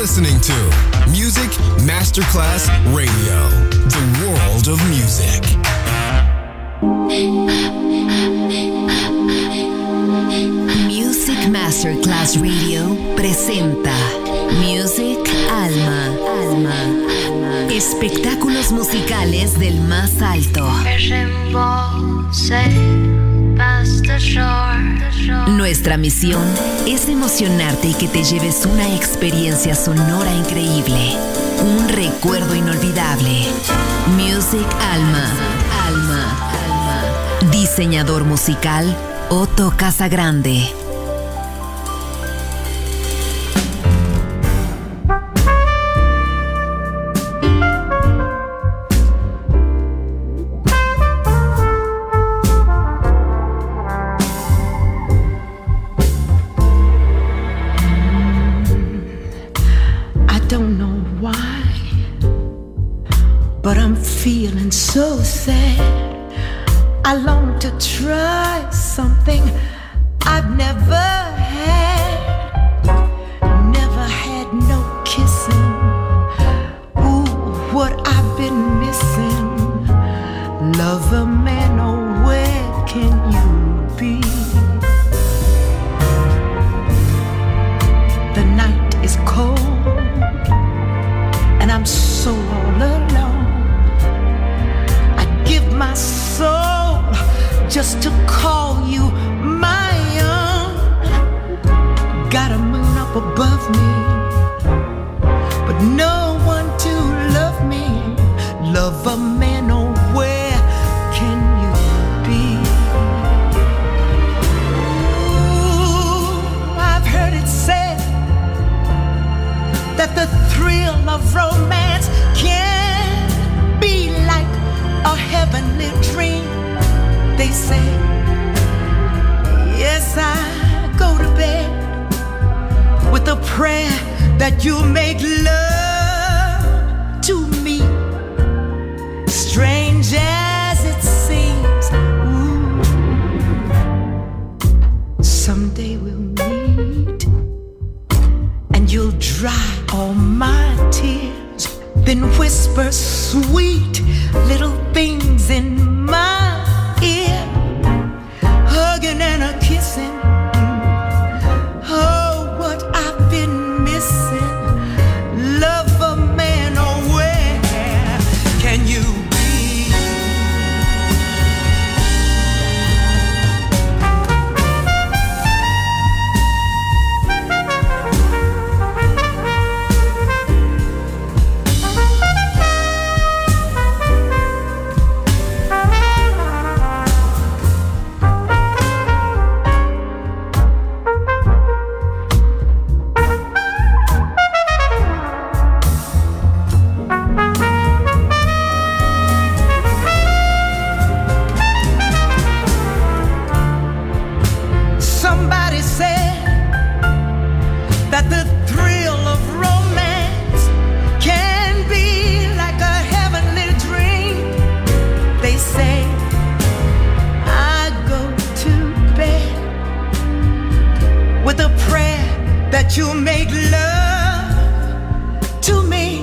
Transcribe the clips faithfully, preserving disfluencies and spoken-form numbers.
listening to Music Masterclass Radio, the world of music. Music Masterclass Radio presenta Music Alma, Alma, espectáculos musicales del más alto. Nuestra misión es emocionarte y que te lleves una experiencia sonora increíble, un recuerdo inolvidable. Music Alma, Alma, Alma. Diseñador musical Otto Casagrande. Feeling so sad, I long to try something I've never had. Never had no kissing. Ooh, what I've been missing. Lover man, oh, where can you be? The night is cold and I'm so all alone. My soul just to call you my own. Got a moon up above me, but no one to love me. Love a man, oh, where can you be? Ooh, I've heard it said that the thrill of romance can be like a heavenly dream, they say. Yes, I go to bed with a prayer that you'll make love to me. Strange as it seems, ooh, someday we'll meet and you'll dry all my tears, then whisper sweet little things in my ear, hugging and a kissing. Oh, what I've been missing. Love a man, oh, where can you be? You make love to me,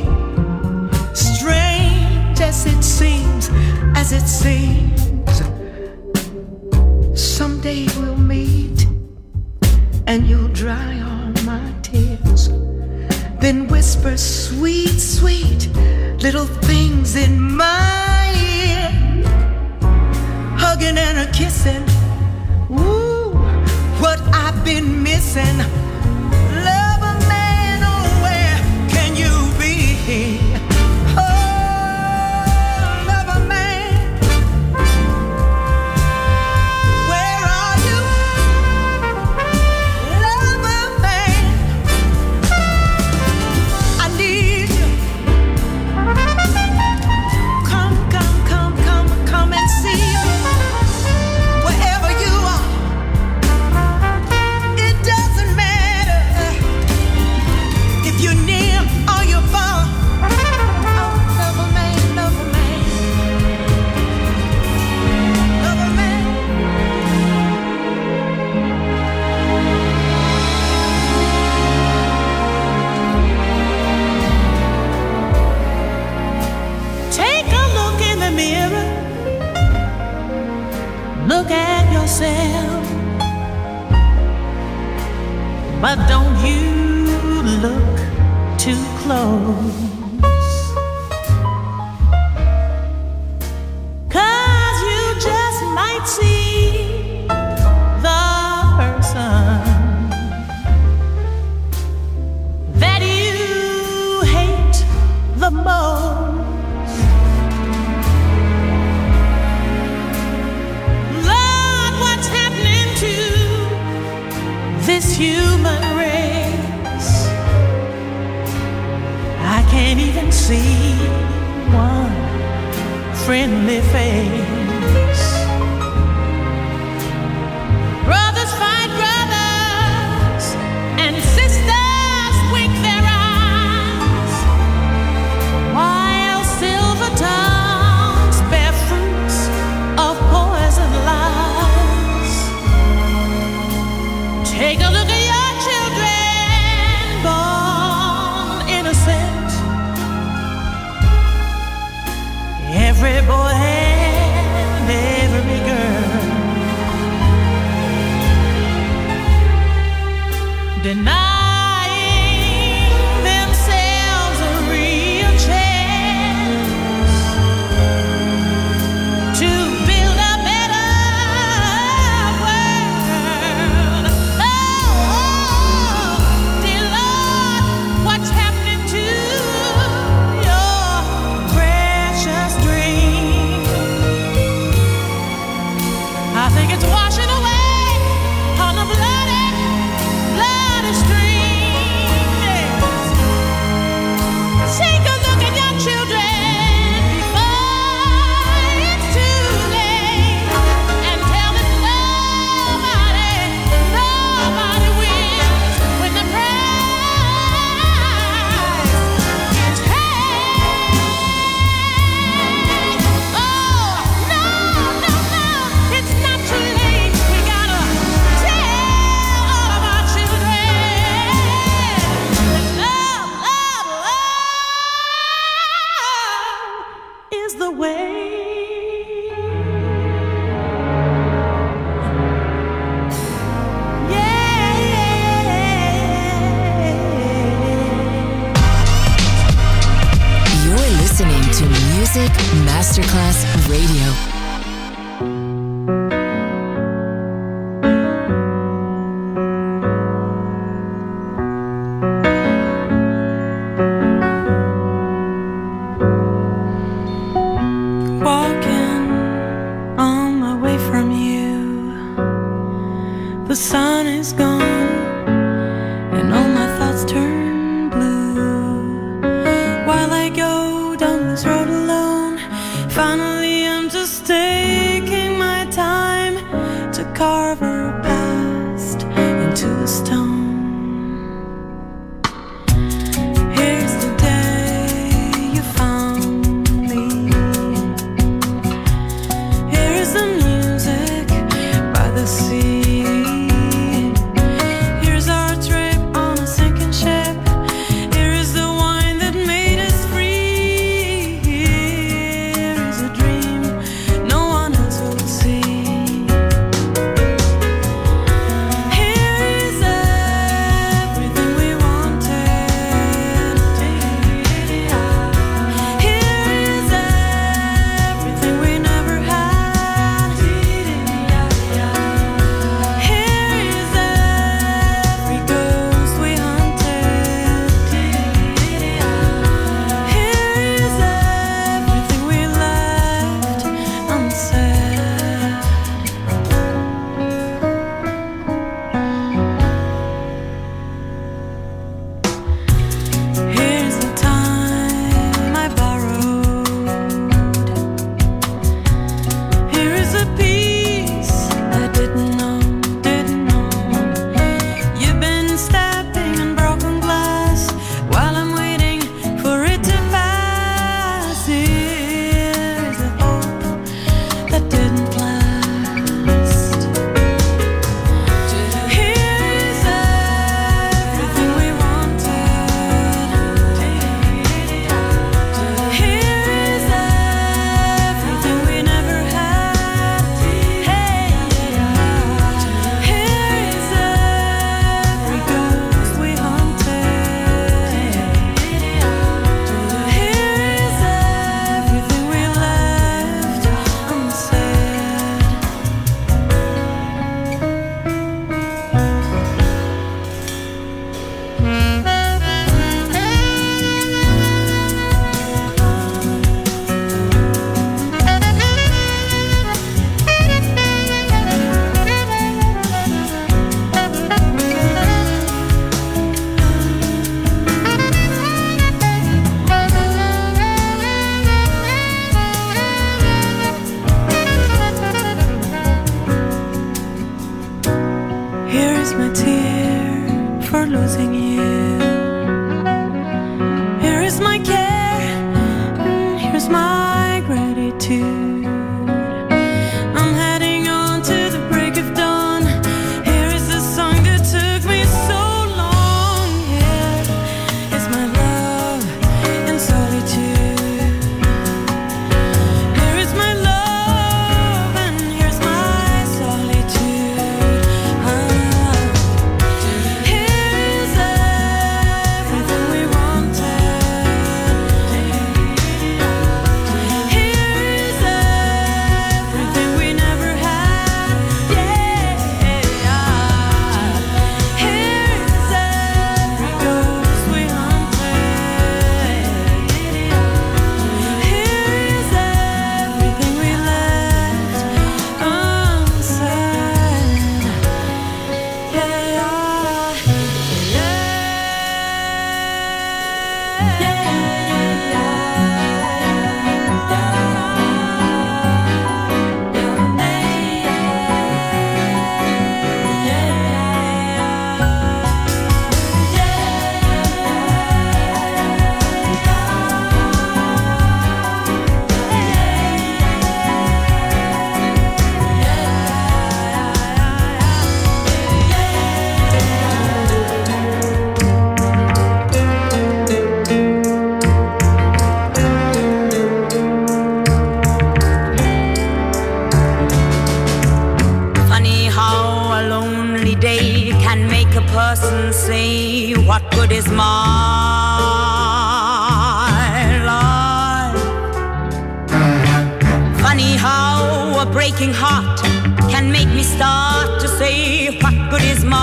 strange as it seems, as it seems. Someday we'll meet and you'll dry all my tears, then whisper sweet, sweet little things in my ear, hugging and a kissing. Ooh, what I've been missing. Wherever you are, it doesn't matter. Cause you just might see the person that you hate the most. Lord, what's happening to this human race? I can't even see one friendly face. Brothers fight brothers, and sisters wink their eyes, while silver tongues bear fruits of poison lies. Take a look at your children, born innocent. Every boy and every girl, denying themselves a real chance to build a better world. Oh, dear Lord, what's happening to your precious dream? I think it's washing away on the bloody, bloody stream. Yes. Take a look at your children before it's too late, and tell them nobody, nobody wins when the prize is paid. Oh, no, no, no, it's not too late. We gotta tell all of our children that love, love, love is the way. Yeah, yeah. You're listening to Music Masterclass Radio. Walking on my way from you, the sun is gone and all my thoughts turn blue. While I go down this road alone, finally I'm just Person say, what good is my life? Funny how a breaking heart can make me start to say, what good is my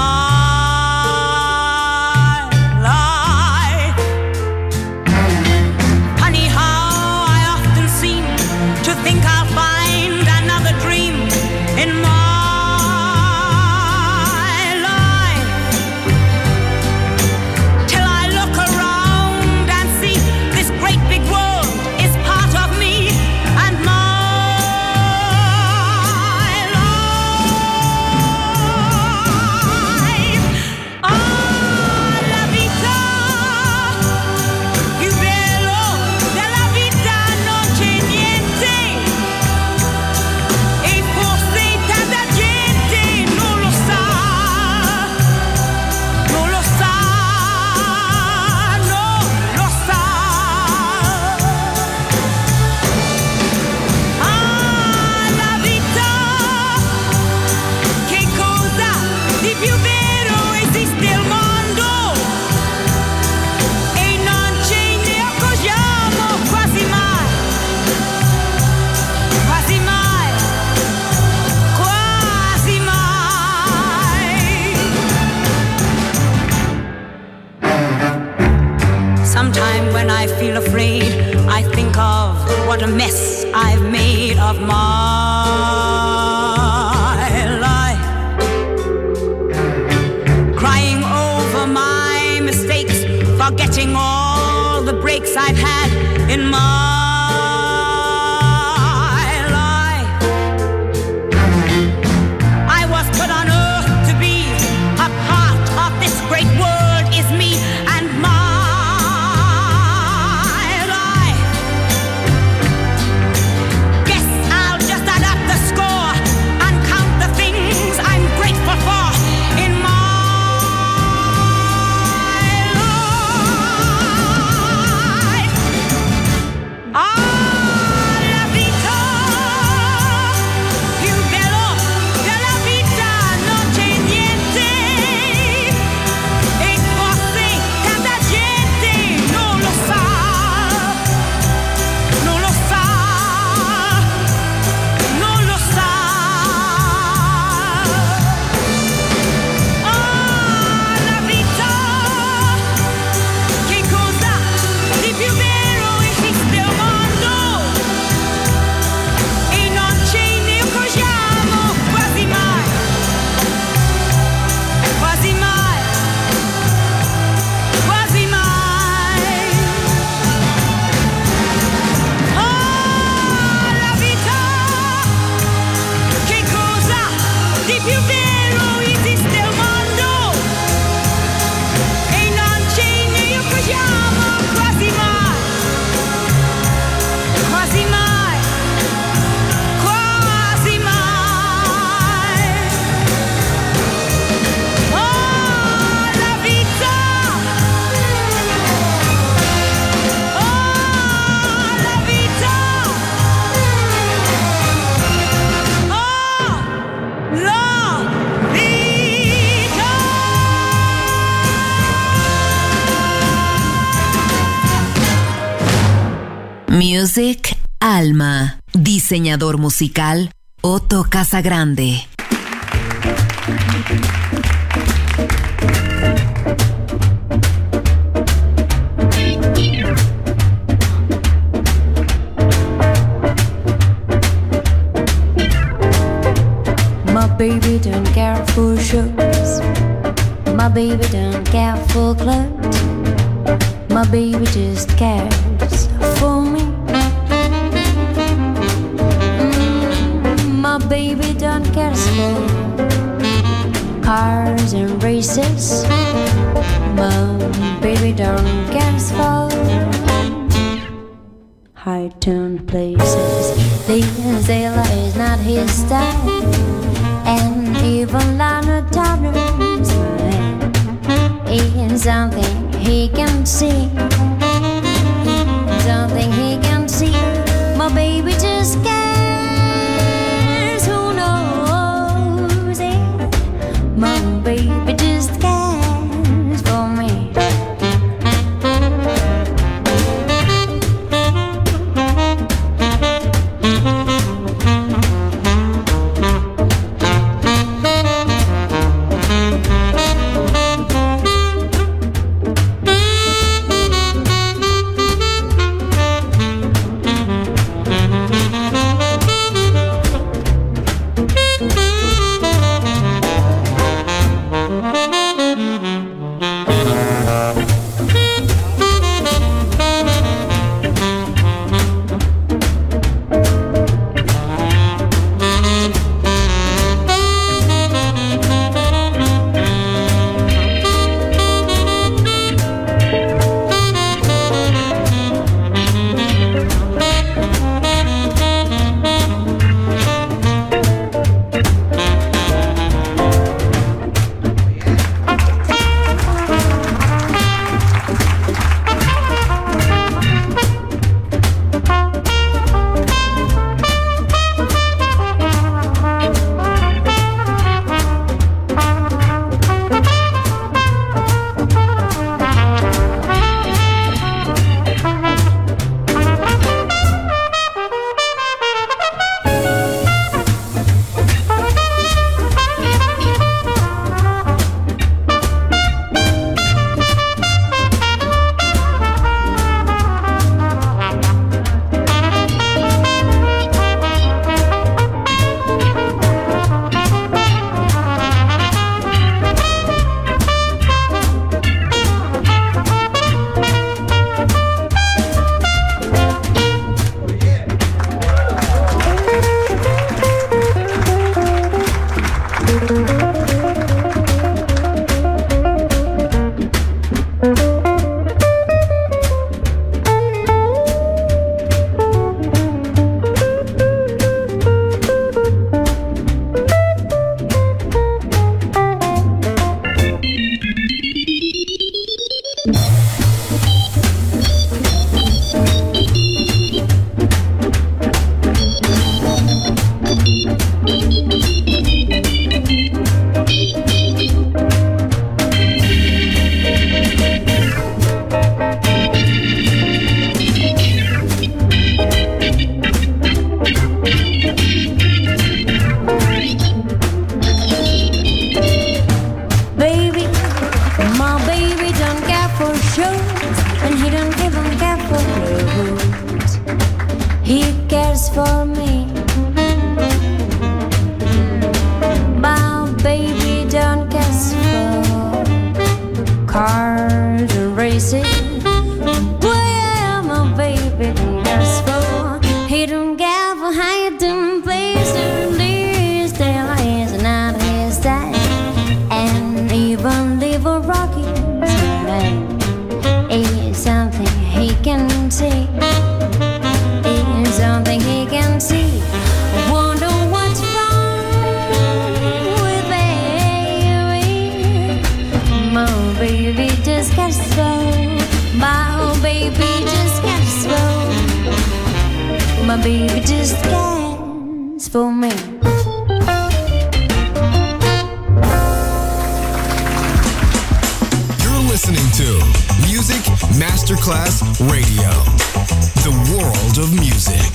life? Funny how I often seem to think I'll find another dream in my when I feel afraid, I think of what a mess I've made of my life. Crying over my mistakes, forgetting all the breaks I've had in my life. I was put on earth to be a part of this great world, is me and my Music Alma. Diseñador musical Otto Casagrande. My baby don't care for shoes. My baby don't care for clothes. My My baby just cares for me. Mm, my baby don't care for cars and races. My baby don't care for high-tone places. This sailor is not his style, and even Lana Turner's smile is something he can see. Something he can see. My baby just cares. Who knows it? My baby just cares for me. My baby just cares for me. You're listening to Music Masterclass Radio, the world of music.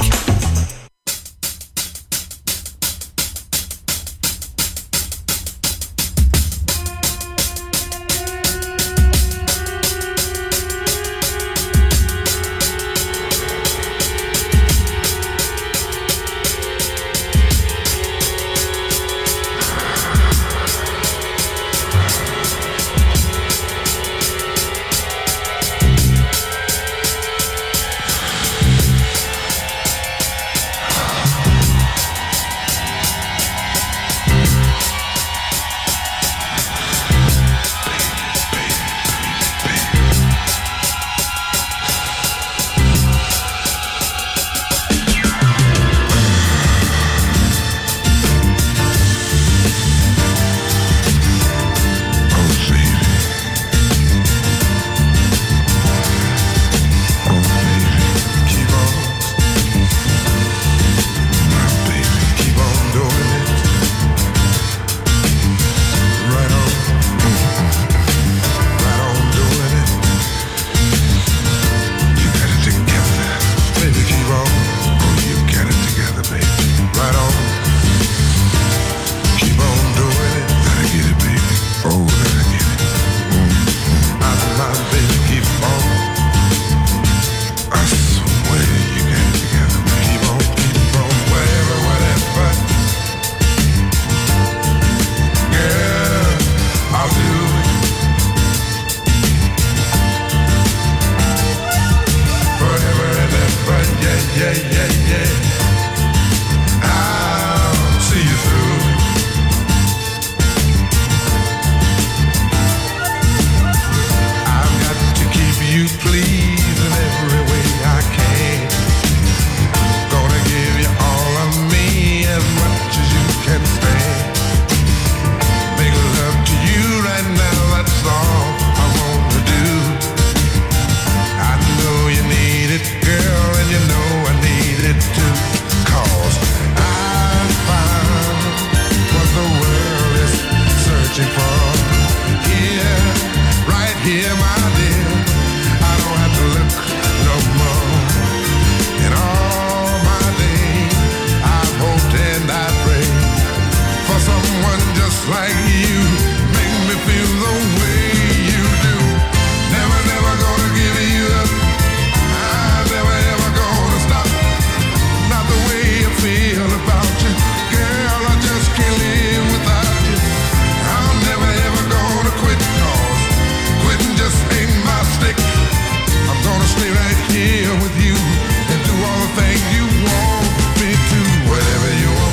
stay right here with you and do all the things you want me to, whatever you want.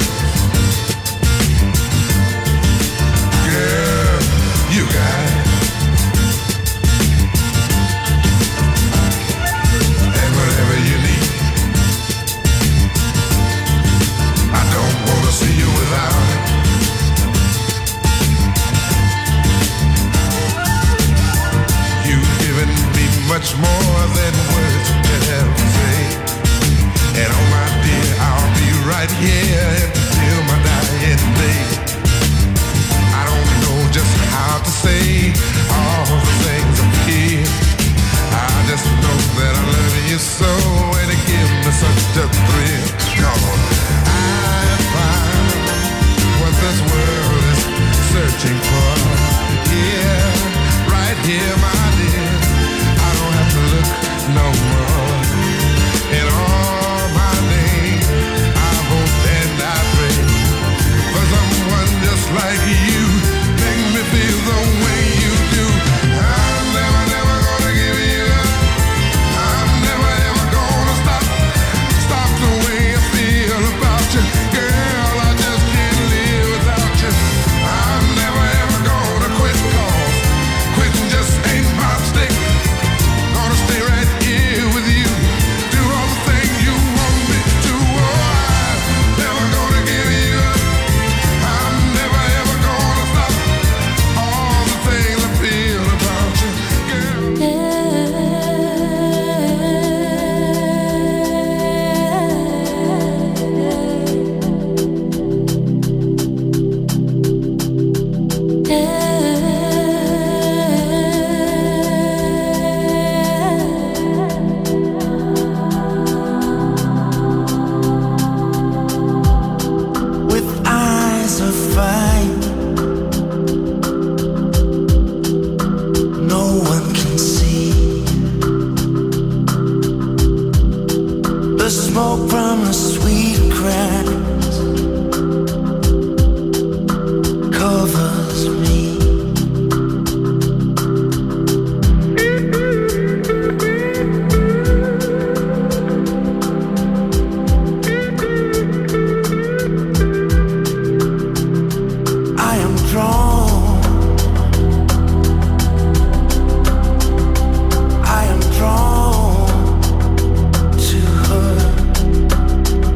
Girl, you got it. And whatever you need, I don't want to see you without it. You've given me much more than words can ever say. And oh my dear, I'll be right here until my dying day. I don't know just how to say all the things I'm here. I just know that I love you so, and it gives me such a thrill. Come on, I find what this world is searching for. Yeah, right here, my dear. I don't have to look no more. In all my days, I hope and I pray for someone just like you. Make me feel the way you do. I'm never, never gonna give you up. I'm never, ever gonna stop. Stop the way I feel about you. Girl, I just can't live without you. I'm never, ever gonna quit, 'cause quitting just ain't my stick. Gonna stay right here with you. Do all the things you want me to. Oh, I'm never gonna give you up. I'm never, ever gonna stop. All the things I feel about you, girl. With eyes of fire, no one can see the smoke from the sweet grass covers me. I am drawn, I am drawn to her.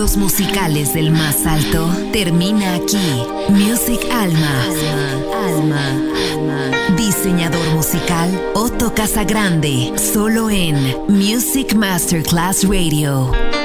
éxitos musicales del más alto termina aquí. Music Alma. Alma. Alma. Diseñador musical Otto Casagrande. Solo en Music Masterclass Radio.